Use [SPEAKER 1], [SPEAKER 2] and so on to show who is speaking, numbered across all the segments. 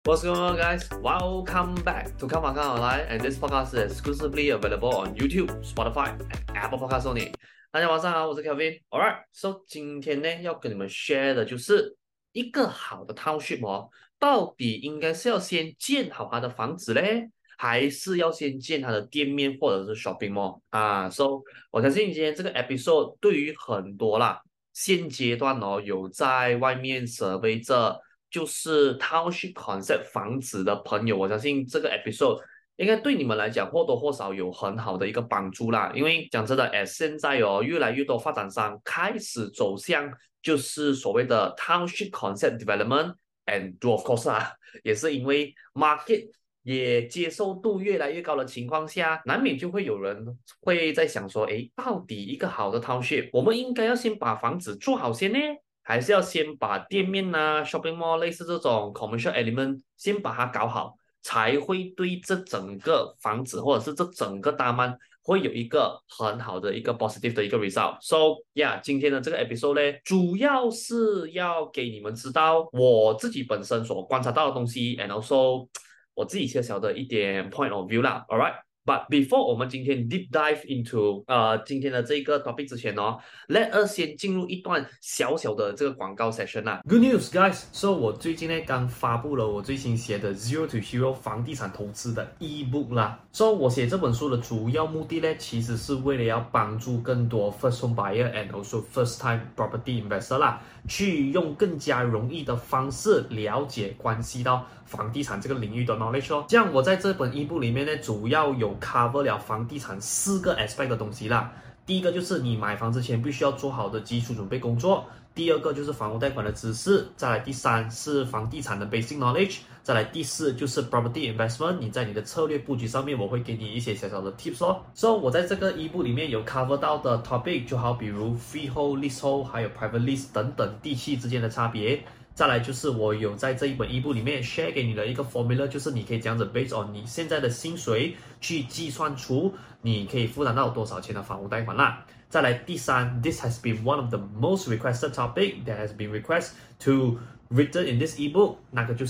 [SPEAKER 1] What's going on, guys? Welcome back to Come On Come Online, and this podcast is exclusively available on YouTube, Spotify, and Apple Podcasts only. 大家晚上好，我是 Kevin. Alright, so 今天呢要跟你们 share 的就是一個好的 township 哦，到底應該是要先建好它的房子嘞，還是要先建它的店面或者是 shopping mall 啊？So 我相信今天這個 episode 對於很多啦，現階段哦有在外面 survey 着。就是 township concept 房子的朋友，我相信這個 episode 應該對你們來講或多或少有很好的一個幫助啦。因為講真的，現在哦，越來越多發展商開始走向就是所謂的 township concept development，and of course 啊，也是因為 market 也接受度越來越高的情況下，難免就會有人會在想說，誒，到底一個好的 township，我們應該要先把房子做好先呢？還是要先把店面啊、shopping mall 類似這種 commercial element 先把它搞好，才會對這整個房子或者是這整個大曼會有一個很好的一個 positive 的一個 result。So yeah， 今天的這個 episode 呢，主要是要給你們知道我自己本身所觀察到的東西 ，and also 我自己小小的一點 point of view 啦。Alright。But before 我們今天 deep dive into 今天的這個 topic 之前哦，let us 先進入一段小小的這個廣告 session 啦。Good news, guys! So 我最近呢剛發布了我最新寫的 Zero to Hero 房地產投資的 ebook 啦。So 我寫這本書的主要目的呢，其實是為了要幫助更多 first home buyer and also first time property investor 啦，去用更加容易的方式了解關係到房地產這個領域的 knowledge 哦。這樣我在這本 ebook 裡面呢，主要有cover 了房地產4個 aspect 的東西啦。第一個就是你買房之前必須要做好的基礎準備工作，第二個就是房屋貸款的知識，再來第三是房地產的 basic knowledge， 再來第四就是 property investment， 你在你的策略布局上面我會給你一些小小的 tips 哦。So 我在這個 ebook 裡面有 cover 到的 topic 就好比如 freehold、leasehold 還有 private lease 等等地契之間的差別。再來就是我有在這一本 ebook 裡面 share 給你的一個 formula， 就是你可以這樣子 based on 你現在的薪水去計算出你可以負擔到多少錢的房屋貸款啦。再來第三 ，this has been one of the most requested topic that has been requested to written in this ebook， 那個就是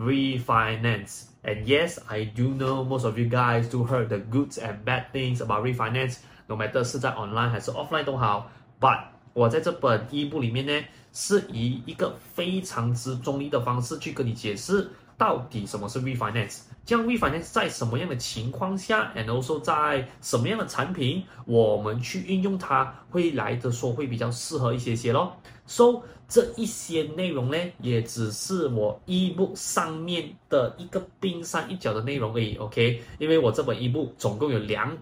[SPEAKER 1] refinance。And yes, I do know most of you guys do heard the goods and bad things about refinance，no matter 是在 online 還是 offline 都好。But 我在這本 ebook 裡面呢，是以一個非常之中立的方式去跟你解釋到底什麼是 refinance， 這樣 refinance 在什麼樣的情況下 and also 在什麼樣的產品我們去運用它會來的說會比較適合一些咯。So 這一些內容呢，也只是我 ebook 上面的一個冰山一角的內容而已 ，OK？ 因為我這本 ebook 總共有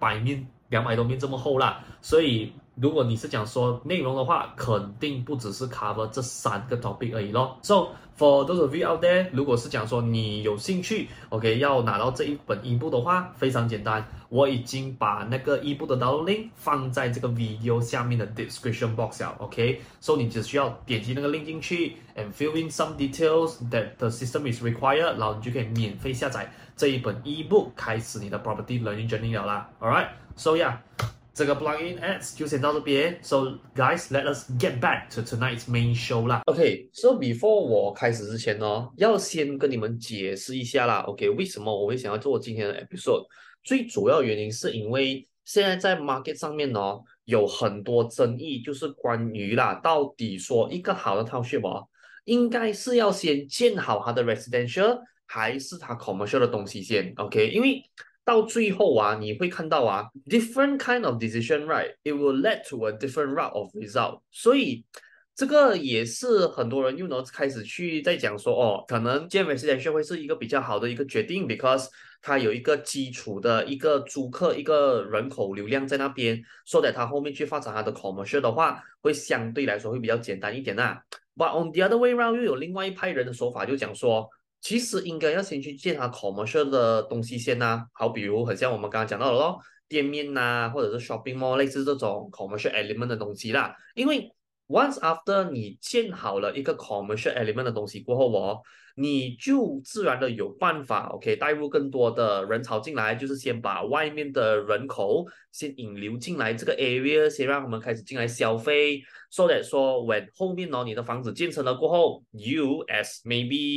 [SPEAKER 1] 200多面這麼厚啦，所以如果你是講說內容的話，肯定不只是 cover 這3個 topic 而已咯。So for those of you out there， 如果是講說你有興趣 ，OK， 要拿到這一本 ebook 的話，非常簡單，我已經把那個 ebook 的 download link 放在這個 video 下面的 description box 了 ，OK，So 你只需要點擊那個 link 進去 and fill in some details that the system is required， 然後你就可以免費下載這一本 ebook， 開始你的 property learning journey 了啦。Alright，so yeah。這個 plugin ads 就先到這邊 ，So guys, let us get back to tonight's main show 啦。OK，so before 我開始之前呢，要先跟你們解釋一下啦。OK，為什麼我會想要做今天的 episode？ 最主要原因是因為現在在 market 上面呢，有很多爭議，就是關於啦，到底說一個好的 township 哦，應該是要先建好它的 residential， 還是它 commercial 的東西先 ？OK， 因為到最後啊，你會看到啊 ，different kind of decision, right? It will lead to a different route of result. 所以這個也是很多人又能開始去在講說，哦，可能建 residential 會是一個比較好的一個決定 ，because 它有一個基礎的一個租客一個人口流量在那邊，so that 它後面去發展它的 commercial 的話，會相對來說會比較簡單一點啦。But on the other way round， 又有另外一派人的說法，就講說，其實應該要先去建它 commercial 的東西先啊，好比如很像我們剛剛講到的咯，店面吶，或者是 shopping mall 類似這種 commercial element 的東西啦。因為 once after 你建好了一個 commercial element 的東西過後哦，你就自然的有辦法 OK 帶入更多的人潮進來，就是先把外面的人口先引流進來這個 area， 先讓他們開始進來消費，so that 說 when 後面哦你的房子建成了過後 ，you as maybe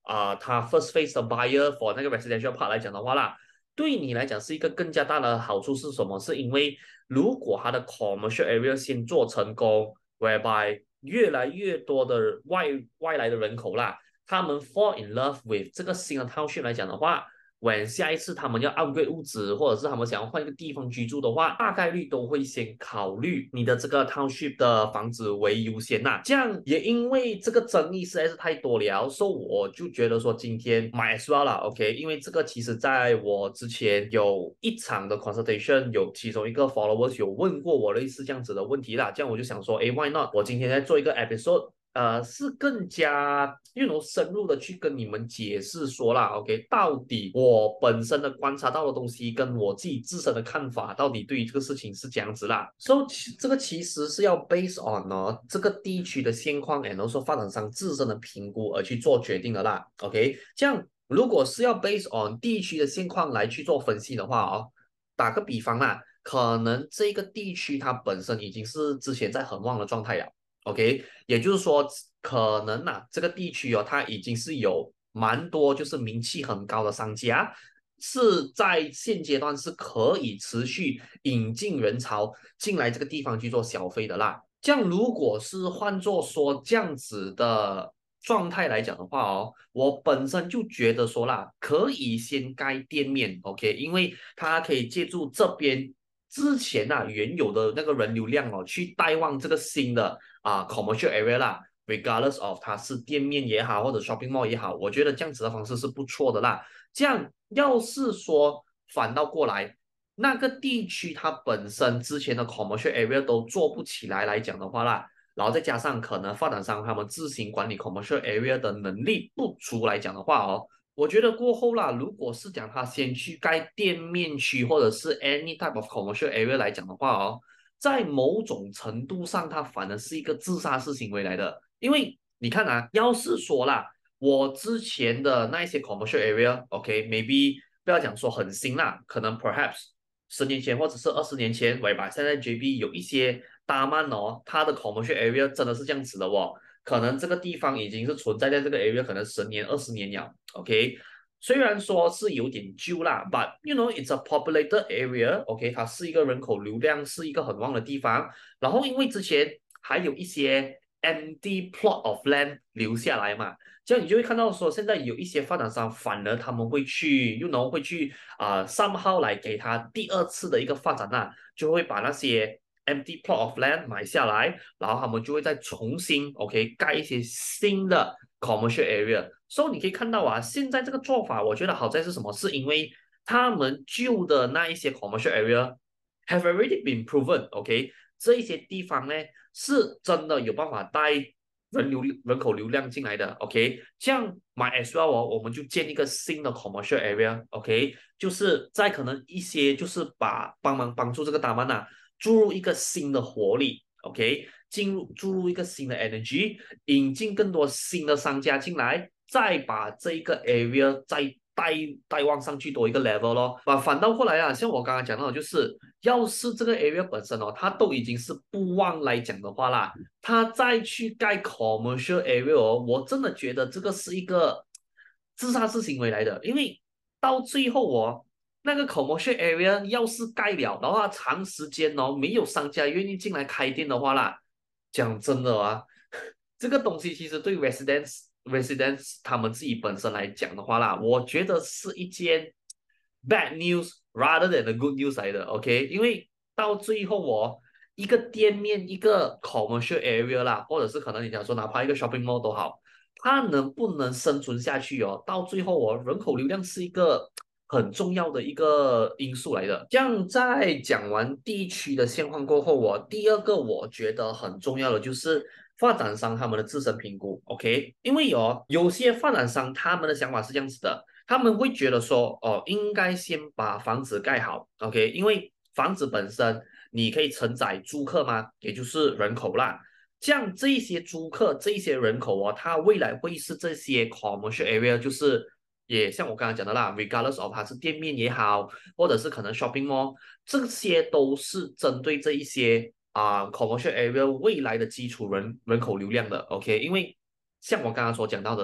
[SPEAKER 1] 它 first phase 的 buyer for 那個 residential part 來講的話啦，對你來講是一個更加大的好處是什麼？是因為如果它的 commercial area 先做成功 ，whereby 越來越多的外來的人口啦，他們 fall in love with 這個新的 township 來講的話。when 下一次他們要 upgrade 屋子，或者是他們想要換一個地方居住的話，大概率都會先考慮你的這個 township 的房子為優先吶。這樣也因為這個爭議實在是太多了，所以我就覺得說今天 might as well 啦 ，OK？ 因為這個其實在我之前有一場的 consultation， 有其中一個 followers 有問過我類似這樣子的問題啦，這樣我就想說，誒 ，why not？我今天在做一個 episode。是更加深入的去跟你們解釋說啦 ，OK， 到底我本身的觀察到的東西跟我自己自身的看法，到底對於這個事情是這樣子啦。所以這個其實是要 based on 這個地區的現況，and also 發展商自身的評估而去做決定的啦。OK， 這樣如果是要 based on 地區的現況來去做分析的話打個比方啦，可能這個地區它本身已經是之前在很旺的狀態了。OK， 也就是說，可能這個地區它已經是有蠻多就是名氣很高的商家，是在現階段是可以持續引進人潮進來這個地方去做消費的啦。這樣如果是換作說這樣子的狀態來講的話我本身就覺得說啦，可以先蓋店面 ，OK， 因為它可以借助這邊之前原有的那個人流量去帶旺這個新的commercial area 啦 ，regardless of 它是店面也好或者 shopping mall 也好，我覺得這樣子的方式是不錯的啦。這樣要是說反倒過來，那個地區它本身之前的 commercial area 都做不起來講的話啦，然後再加上可能發展商他們自行管理 commercial area 的能力不足來講的話我覺得過後啦，如果是講他先去蓋店面區或者是 any type of commercial area 來講的話在某種程度上，它反而是一個自殺式行為來的。因為你看要是說啦，我之前的那一些 commercial area，OK，maybe 不要講說很新啦，可能 perhaps 10年前或者是20年前，喂吧，現在 JB 有一些大曼它的 commercial area 真的是這樣子的可能這個地方已經是存在這個 area 可能10年20年了 ，OK， 雖然說是有點舊啦 ，but it's a populated area，OK， 它是一個人口流量是一個很旺的地方，然後因為之前還有一些 empty plot of land 留下來嘛，這樣你就會看到說現在有一些發展商反而他們會去會去somehow來給他第二次的一個發展就會把那些empty plot of land 買下來，然後他們就會再重新 OK 蓋一些新的 commercial area。所以你可以看到現在這個做法，我覺得好在是什麼？是因為他們舊的那一些 commercial area have already been proven，OK， 這一些地方呢是真的有辦法帶人口流量進來的 ，OK， 這樣 might as well 我們就建一個新的 commercial area，OK， 就是在可能一些就是幫助這個大曼注入一個新的活力 ，OK， 注入一個新的 energy， 引進更多新的商家進來，再把這一個 area 再帶往上去多一個 level 咯。反倒過來像我剛剛講到的，就是要是這個 area 本身它都已經是不旺來講的話啦，它再去蓋 commercial area 我真的覺得這個是一個自殺式行為來的，因為到最後那個 commercial area 要是蓋了，然後它長時間沒有商家願意進來開店的話啦，講真的這個東西其實對 residents 他們自己本身來講的話啦，我覺得是一件 bad news rather than a good news 來的 ，OK？ 因為到最後一個店面一個 commercial area 啦，或者是可能你講說哪怕一個 shopping mall 都好，它能不能生存下去到最後人口流量是一個很重要的一個因素來的。這樣在講完地區的現況過後第二個我覺得很重要的就是發展商他們的自身評估 ，OK？ 因為有些發展商他們的想法是這樣子的，他們會覺得說應該先把房子蓋好 ，OK？ 因為房子本身你可以承載租客嘛，也就是人口啦。這樣這一些租客這一些人口他未來會是這些 commercial area 就是也像我剛剛講的啦 regardless of 它是店面也好，或者是可能 shopping mall， 這些都是針對這一些commercial area 未來的基礎人口流量的 OK， 因為像我剛剛所講到的，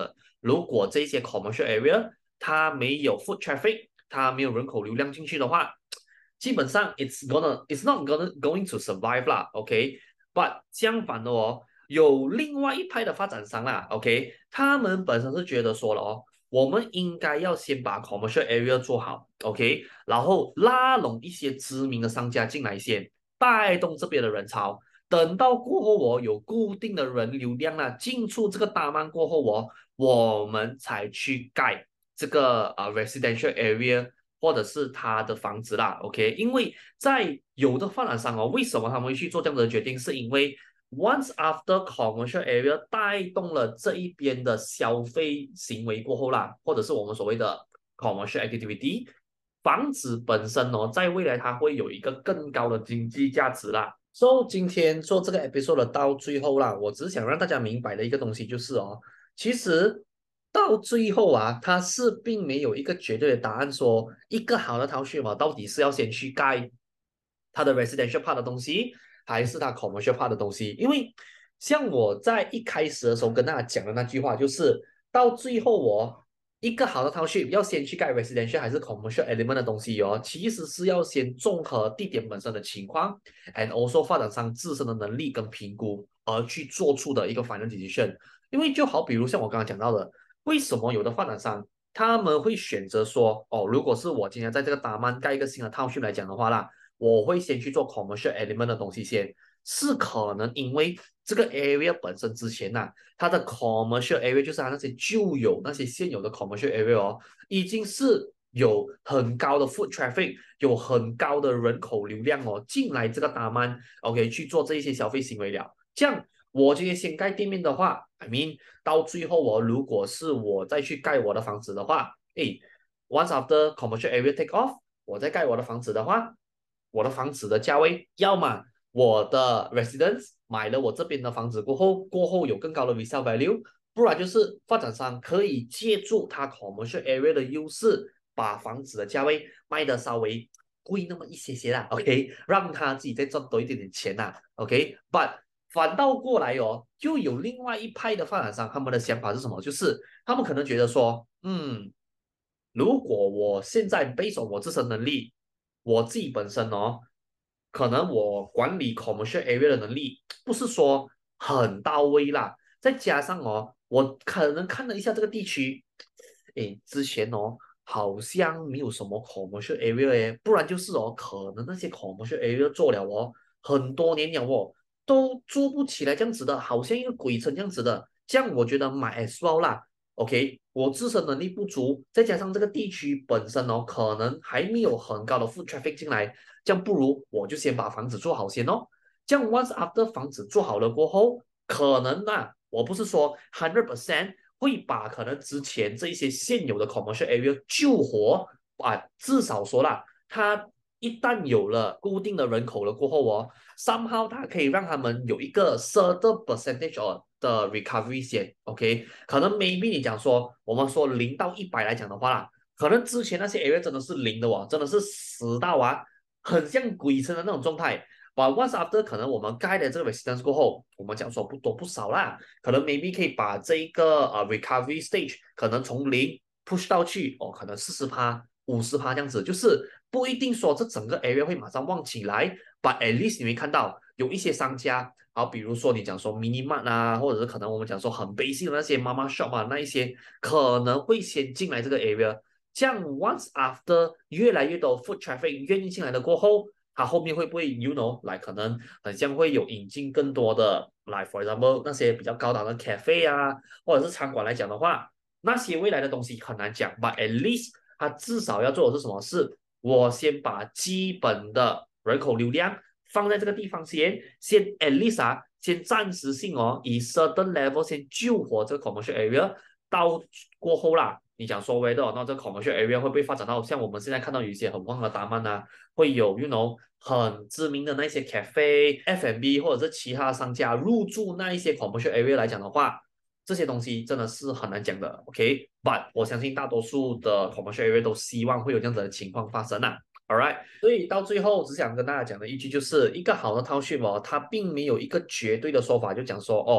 [SPEAKER 1] 如果這些 commercial area 它沒有 foot traffic，它沒有人口流量進去的話，基本上 it's not going to survive 啦，OK？But 相反的哦，有另外一派的发展商啦，OK？他們本身是覺得說了哦，我們應該要先把 commercial area 做好，OK？然後拉攏一些知名的商家進來先，帶動這邊的人潮。等到過後哦，有固定的人流量啊，進出這個大曼過後哦，我們才去蓋這個residential area 或者是他的房子啦，OK？因為在有的發展商哦，為什麼他們會去做這樣的決定？是因為 once after commercial area 帶動了這一邊的消費行為過後啦，或者是我們所謂的 commercial activity， 房子本身哦，在未來它會有一個更高的經濟價值啦。So 今天做這個 episode 到最後啦，我只想讓大家明白的一個東西就是哦，其實到最後啊，它是並沒有一個絕對的答案說一個好的 township 嘛，到底是要先去蓋它的 residential part 的東西，還是它 commercial part 的東西？因為像我在一開始的時候跟大家講的那句話，就是到最後我一個好的 township 要先去蓋 residential 還是 commercial element 的東西哦，其實是要先綜合地點本身的情況 and also 發展商自身的能力跟評估而去做出的一個 final decision。因為就好比如像我剛剛講到的，為什麼有的發展商他們會選擇說，哦，如果是我今天在這個大曼蓋一個新的 township 來講的話啦，我會先去做 commercial element 的東西先，是可能因為這個 area 本身之前啊，它的 commercial area 就是它那些舊有那些現有的 commercial area 哦，已經是有很高的 foot traffic， 有很高的人口流量哦，進來這個大曼 OK 去做這一些消費行為了。這樣我今天先蓋店面的話 I mean 到最後哦，如果是我再去蓋我的房子的話，誒 once after commercial area take off， 我再蓋我的房子的話，我的房子的價位，要麼我的 residents 買了我這邊的房子過後有更高的 resale value， 不然就是發展商可以借助它 commercial area 的優勢，把房子的價位賣得稍微貴那麼一些些啦 ，OK， 讓他自己再賺多一點點錢啦 ，OK，but 反倒過來哦，就有另外一派的發展商，他們的想法是什麼？就是他們可能覺得說，如果我現在 based on我自身能力，我自己本身哦，可能我管理 commercial area 的能力不是說很到位啦，再加上哦，我可能看了一下這個地區，誒，之前哦好像沒有什麼 commercial area 誒，不然就是哦，可能那些 commercial area 做了哦很多年了哦，都做不起來這樣子的，好像一個鬼城這樣子的，這樣我覺得買 as well 啦。OK，我自身能力不足，再加上這個地區本身哦，可能還沒有很高的 foot traffic 進來，這樣不如我就先把房子做好先哦。這樣 once after 房子做好了過後，可能啊，我不是說100%會把可能之前這一些現有的 commercial area 救活啊，至少說啦，它一旦有了固定的人口了過後哦，somehow 它可以讓他們有一個 certain percentage 的 recovery 先 ，OK， 可能 maybe 你講說，我們說0到100來講的話啦，可能之前那些 area 真的是零的哦，真的是死到啊，很像鬼城的那種狀態。But once after 可能我們蓋了這個 residence 過後，我們講說不多不少啦，可能 maybe 可以把這一個recovery stage 可能從0 push 到去哦，可能40%、50%這樣子，就是不一定說這整個 area 會馬上旺起來，but at least 你會看到有一些商家，好，比如說你講說 mini mart 啊，或者是可能我們講說很 basic 的那些 mama shop 啊，那一些可能會先進來這個 area， 這樣 once after 越來越多 foot traffic 願意進來了過後，它後面會不會 you know 來可能很像會有引進更多的來 for example 那些比較高檔的 cafe 啊，或者是餐館來講的話，那些未來的東西很難講 but at least 它至少要做的是什麼事？我先把基本的人口流量放在這個地方先 at least 啊，先暫時性哦，以 certain level 先救活這個 commercial area， 到過後啦，你講說 whether 那這個 commercial area 會不會發展到像我們現在看到有一些很旺的大曼啊，會有 you know 很知名的那些 cafe、F&B 或者是其他商家入駐那一些 commercial area 來講的話，這些東西真的是很難講的 ，OK？But 我相信大多數的 commercial area 都希望會有這樣子的情況發生啊。Alright，所以到最後只想跟大家講的一句就是，一個好的 township 哦，它並沒有一個絕對的說法，就講說哦，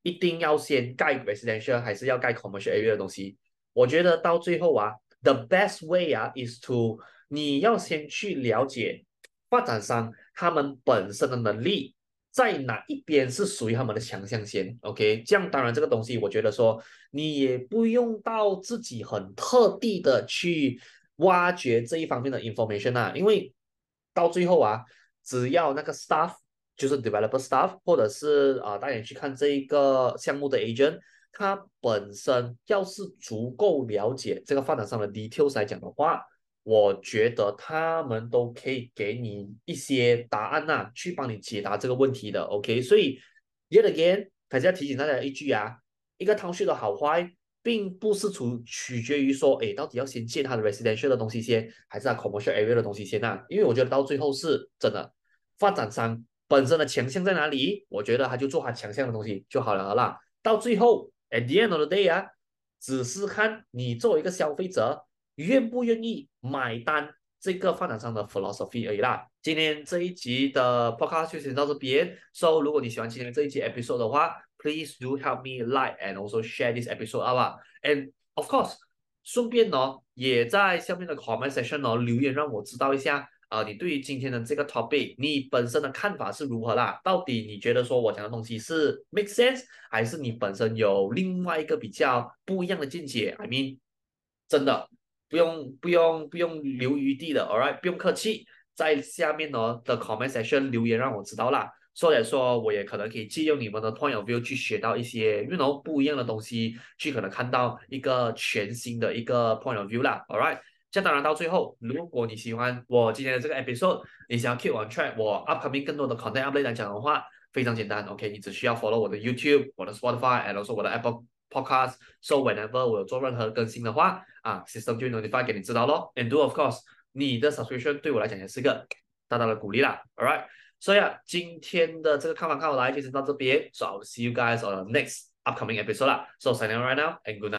[SPEAKER 1] 一定要先蓋 residential 還是要蓋 commercial area 的東西。我覺得到最後啊，the best way 啊 is to 你要先去了解發展商他們本身的能力在哪一邊是屬於他們的強項先，OK？這樣當然這個東西我覺得說你也不用到自己很特地的去挖掘這一方面的 information 啊，因為到最後啊，只要那個 staff 就是 developer staff 或者是带你去看這一個項目的 agent，他本身要是足夠了解這個發展商的 details 來講的話，我覺得他們都可以給你一些答案啊，去幫你解答這個問題的。OK，所以 yet again，還是要提醒大家一句啊，一個 township 的好壞，並不是取決於說，哎，到底要先建它的 residential 的東西先，還是它 commercial area 的東西先啊？因為我覺得到最後是真的，發展商本身的強項在哪裡，我覺得他就做他強項的東西就好了啦。到最後 at the end of the day 啊，只是看你作為一個消費者願不願意買單這個發展商的 philosophy 而已啦。今天這一集的 podcast 就先到這邊。So 如果你喜歡今天這一集 episode 的話， please do help me like and also share this episode 好吧 ？And of course， 順便也在下面的 comment section 留言讓我知道一下你對於今天的這個 topic， 你本身的看法是如何啦？到底你覺得說我講的東西是 make sense， 還是你本身有另外一個比較不一樣的見解 ？I mean， 真的不用留余地的 ，all right， 不用客氣，在下面的 comment section 留言讓我知道啦。所以說，我也可能可以借用你們的 point of view 去學到一些不一樣的東西，去可能看到一個全新的一個 point of view 啦。all right。這當然到最後，如果你喜歡我今天的這個 episode， 你想要 keep on track 我 upcoming 更多的 content update 來講的話，非常簡單 ，OK， 你只需要 follow 我的 YouTube、我的 Spotify，and also 我的 Apple Podcast。So whenever 我有做任何更新的話，system 就 notify 給你知道咯。And do of course， 你的 subscription 對我來講也是個大大的鼓勵啦。All right，so yeah， 今天的這個看法看我來就先到這邊。So I'll see you guys on the next upcoming episode 啦。So signing out right now and good night。